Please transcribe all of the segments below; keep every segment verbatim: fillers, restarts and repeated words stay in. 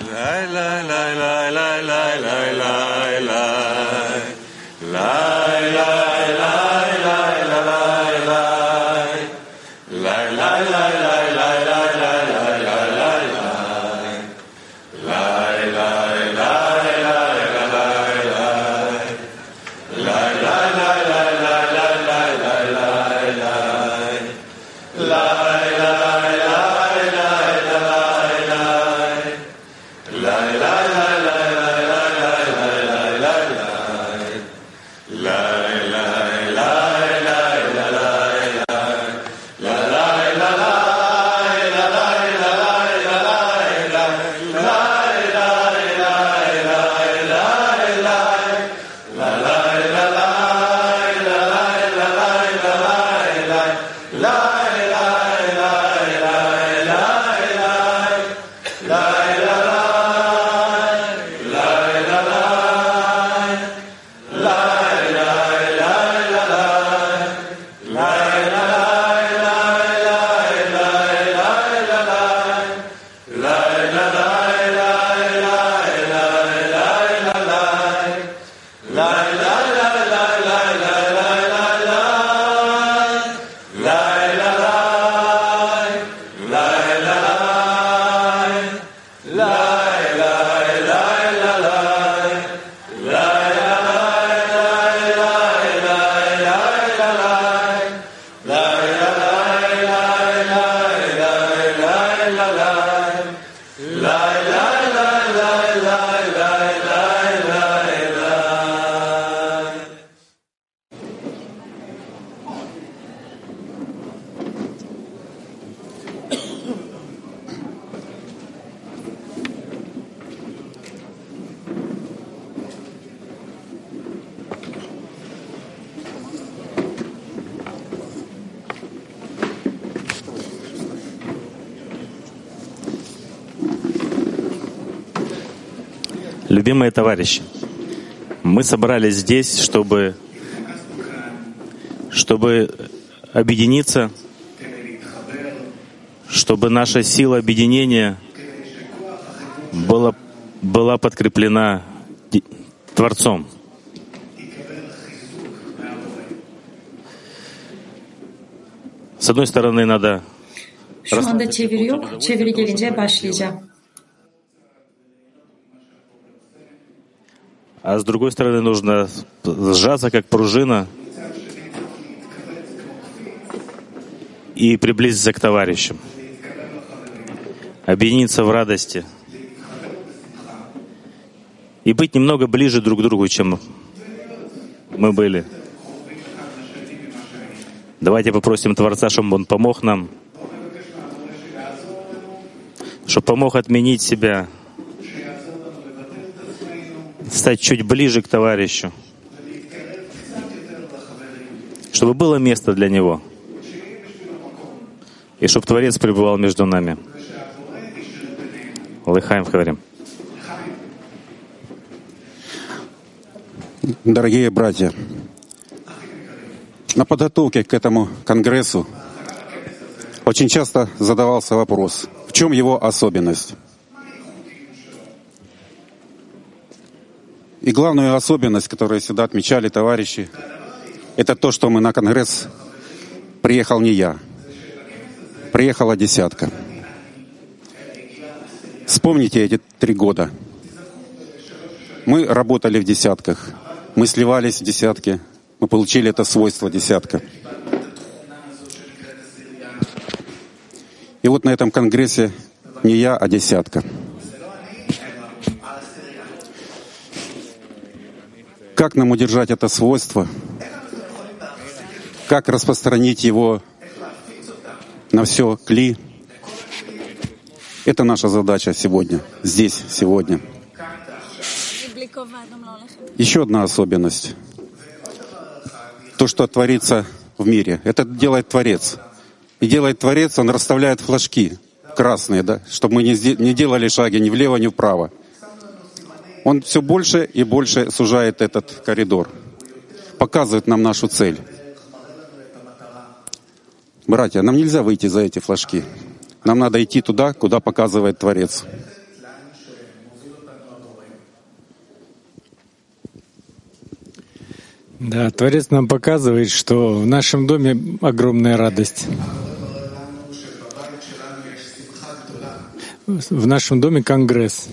Любимые товарищи, мы собрались здесь, чтобы, чтобы объединиться, чтобы наша сила объединения была, была подкреплена Творцом. С одной стороны, надо... Şu anda çeviri yok. Çeviri gelince başlayacağım. А с другой стороны, нужно сжаться, как пружина, и приблизиться к товарищам, объединиться в радости и быть немного ближе друг к другу, чем мы были. Давайте попросим Творца, чтобы Он помог нам, чтобы помог отменить себя, стать чуть ближе к товарищу, чтобы было место для него, и чтобы Творец пребывал между нами. Лыхаем говорим. Дорогие братья, на подготовке к этому конгрессу очень часто задавался вопрос, в чем его особенность? И главную особенность, которую всегда отмечали товарищи, это то, что мы на конгресс приехал не я, приехала десятка. Вспомните эти три года. Мы работали в десятках, мы сливались в десятки, мы получили это свойство десятка. И вот на этом конгрессе не я, а десятка. Как нам удержать это свойство? Как распространить его на все кли? Это наша задача сегодня, здесь, сегодня. Еще одна особенность. То, что творится в мире, это делает Творец. И делает Творец, Он расставляет флажки красные, да, чтобы мы не делали шаги ни влево, ни вправо. Он все больше и больше сужает этот коридор, показывает нам нашу цель. Братья, нам нельзя выйти за эти флажки. Нам надо идти туда, куда показывает Творец. Да, Творец нам показывает, что в нашем доме огромная радость. В нашем доме конгресс.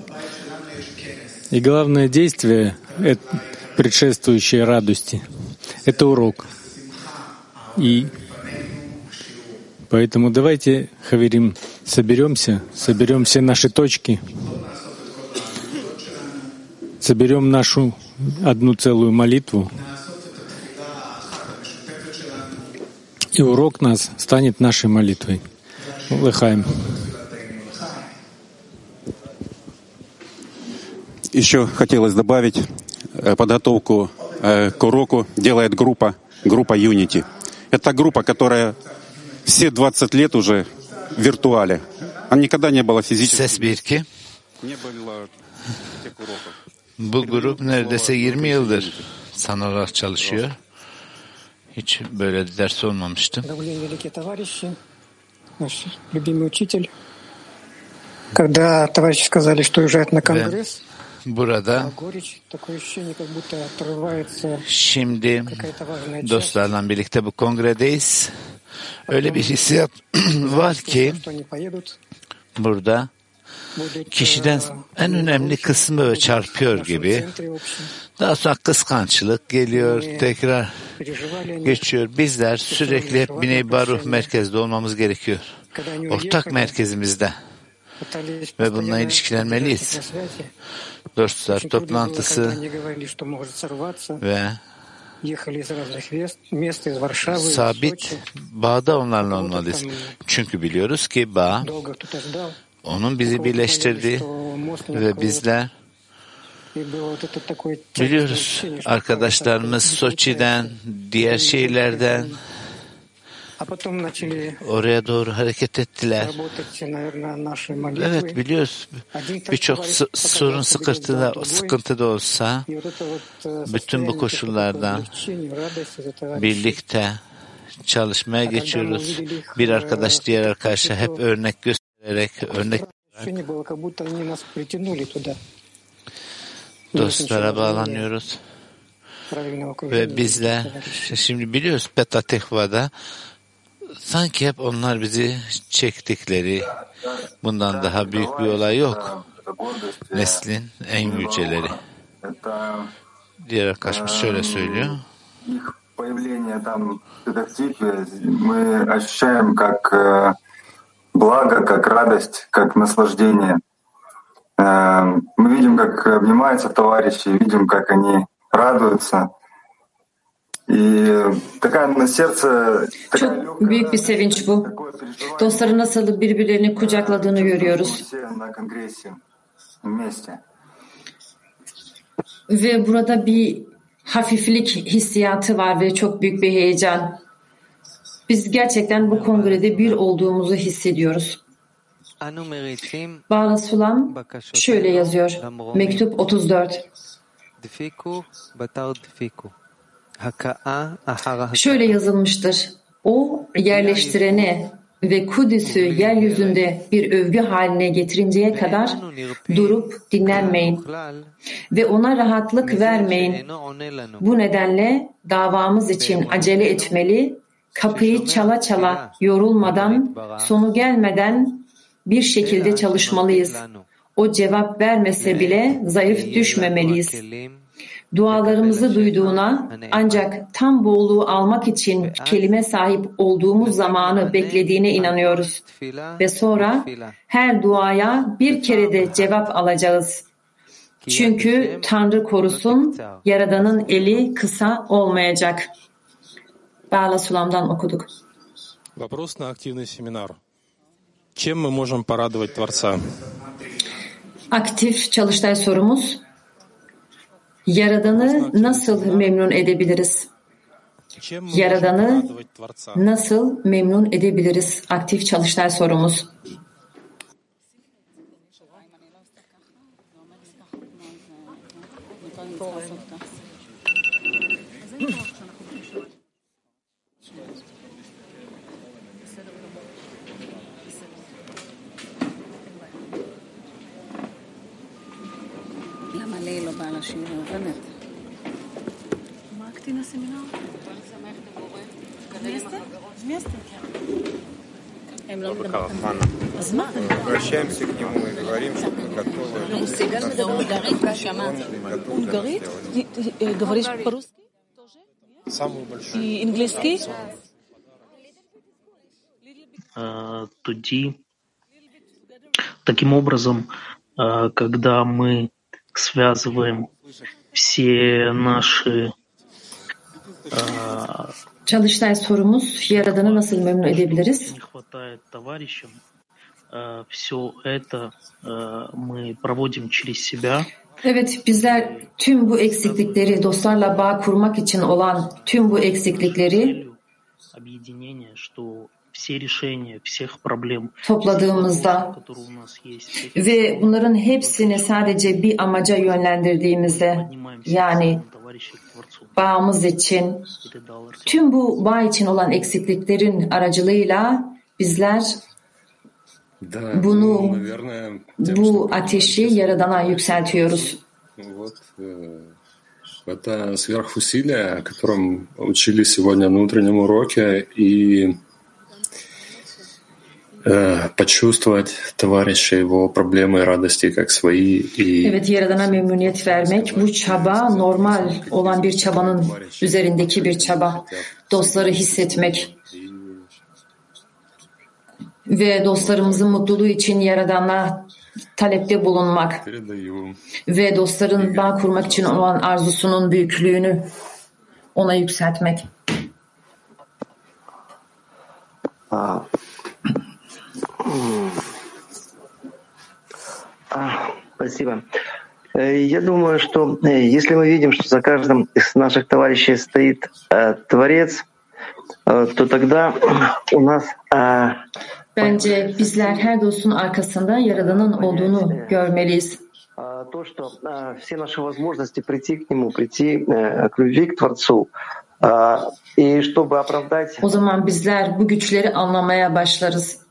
И главное действие, предшествующее радости, это урок. И поэтому давайте, хаверим, соберемся, соберем все наши точки, соберем нашу одну целую молитву, и урок нас станет нашей молитвой. Лыхаем. Еще хотелось добавить, подготовку к уроку делает группа, группа Unity. Это группа, которая все двадцать лет уже в виртуале. Она никогда не была физически. Не было тех уроков. Bu grup neredeyse yirmi yıldır sanal olarak çalışıyor. Hiç böyle ders olmamıştı. Когда товарищи сказали, что уезжают на конгресс, burada şimdi dostlarla birlikte bu kongredeyiz. Öyle bir hissiyat var ki burada kişiden en önemli kısmı böyle çarpıyor gibi. Daha sonra kıskançlık geliyor, tekrar geçiyor. Bizler sürekli hep Bnei Baruch merkezde olmamız gerekiyor. Ortak merkezimizde. Ve bununla ilişkilenmeliyiz. Dostlar toplantısı ve sabit bağda onlarla olmalıyız. Çünkü biliyoruz ki bağ onun bizi birleştirdi ve bizler biliyoruz arkadaşlarımız Soçi'den, diğer şehirlerden oraya doğru hareket ettiler. Evet biliyoruz. Birçok sorun sıkıntıda, sıkıntıda olsa bütün bu koşullardan birlikte çalışmaya geçiyoruz. Bir arkadaş diğer arkadaşa hep örnek göstererek, örnek dostlara bağlanıyoruz. Ve bizler şimdi biliyoruz Petah Tekva'da sanki hep onlar bizi çektikleri, bundan daha büyük bir olay yok. Neslin en yüceleri. Diğer arkadaşımız şöyle söylüyor. Мы ощущаем как благо, как радость, как наслаждение. Мы видим, как обнимаются товарищи, видим, как они радуются. Çok büyük bir sevinç bu. Dostları nasıl birbirlerini kucakladığını görüyoruz. Ve burada bir hafiflik hissiyatı var ve çok büyük bir heyecan. Biz gerçekten bu kongrede bir olduğumuzu hissediyoruz. Bala Sulam şöyle yazıyor. Mektup otuz dört. Şöyle yazılmıştır. O yerleştirene ve Kudüs'ü yeryüzünde bir övgü haline getirinceye kadar durup dinlenmeyin ve ona rahatlık vermeyin. Bu nedenle davamız için acele etmeli, kapıyı çala çala yorulmadan, sonu gelmeden bir şekilde çalışmalıyız. O cevap vermese bile zayıf düşmemeliyiz. Dualarımızı duyduğuna ancak tam bolluğu almak için kelime sahip olduğumuz zamanı beklediğine inanıyoruz. Ve sonra her duaya bir kere de cevap alacağız. Çünkü Tanrı korusun, Yaradan'ın eli kısa olmayacak. Bala Sulam'dan okuduk. Вопрос на активный семинар. Чем мы можем порадовать Творца? Aktif çalıştay sorumuz. Yaradan'ı nasıl memnun edebiliriz? Yaradan'ı nasıl memnun edebiliriz? Aktif çalıştay sorumuz. Обращаемся к нему и говорим, что мы готовы. Говоришь по-русски? Самую большую. Английский? Тоді, таким образом, когда мы связываем все наши Çalıştay sorumuz, Yaradan'ı nasıl memnun edebiliriz? не хватает товарищам, все это мы проводим через себя. Evet, bizler tüm bu eksiklikleri, dostlarla bağ kurmak için olan tüm bu eksiklikleri Объединение, что все решения всех проблем, topladığımızda которые у нас есть, ve bunların hepsini sadece bir amaca yönlendirdiğimizde, yani bağımız için, tüm bu bağ için olan eksikliklerin aracılığıyla bizler bunu, bu ateşi Yaradan'a yükseltiyoruz. Это сверхусилие, о котором учили сегодня на утреннем уроке, и э, почувствовать товарища, его проблемы и радости как свои. И... Evet, Yaradan'a memnuniyet vermek, bu çaba normal olan bir çabanın üzerindeki bir çaba. Dostları hissetmek ve dostlarımızın mutluluğu için Yaradan'a talepte bulunmak ve dostların bağ kurmak için olan arzusunun büyüklüğünü ona yükseltmek. Спасибо. Я думаю, что если мы видим, что за каждым из наших товарищей стоит Творец, то тогда у нас Bence bizler her dostun arkasında Yaradan'ın olduğunu görmeliyiz. То, что все наши возможности прийти к нему, прийти к любви к Творцу, и чтобы оправдать. O zaman bizler bu güçleri anlamaya başlarız.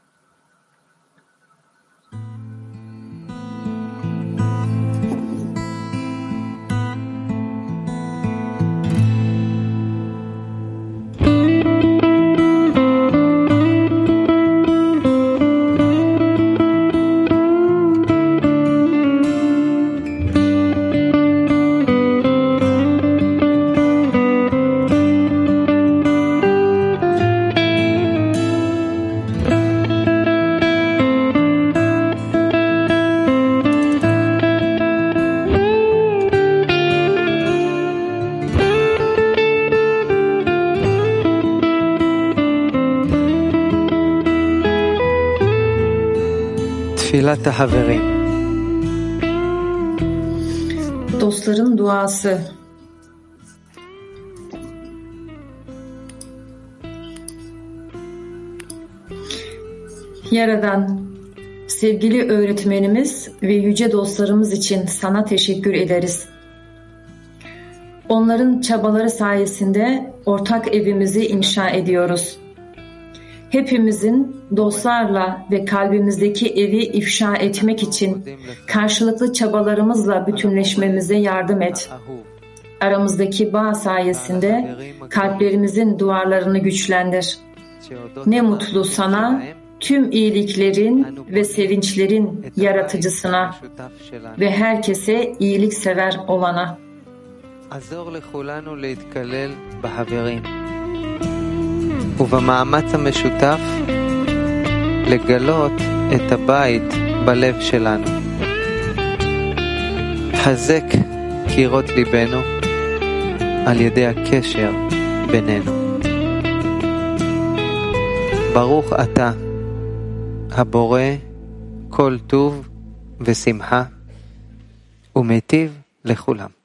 Dostların duası. Yaradan, sevgili öğretmenimiz ve yüce dostlarımız için sana teşekkür ederiz. Onların çabaları sayesinde ortak evimizi inşa ediyoruz. Hepimizin dostlarla ve kalbimizdeki evi ifşa etmek için karşılıklı çabalarımızla bütünleşmemize yardım et. Aramızdaki bağ sayesinde kalplerimizin duvarlarını güçlendir. Ne mutlu sana, tüm iyiliklerin ve sevinçlerin yaratıcısına ve herkese iyiliksever olana. ובמאמץ המשותף לגלות את הבית בלב שלנו. חזק קירות ליבנו על ידי הקשר בינינו. ברוך אתה, הבורא כל טוב ושמחה, ומיטיב לכולם.